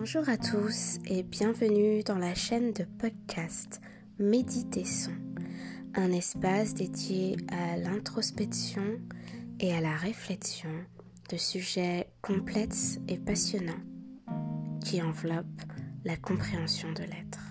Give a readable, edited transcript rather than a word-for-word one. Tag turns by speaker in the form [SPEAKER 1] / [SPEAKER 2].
[SPEAKER 1] Bonjour à tous et bienvenue dans la chaîne de podcast Méditer-son, un espace dédié à l'introspection et à la réflexion de sujets complexes et passionnants qui enveloppent la compréhension de l'être.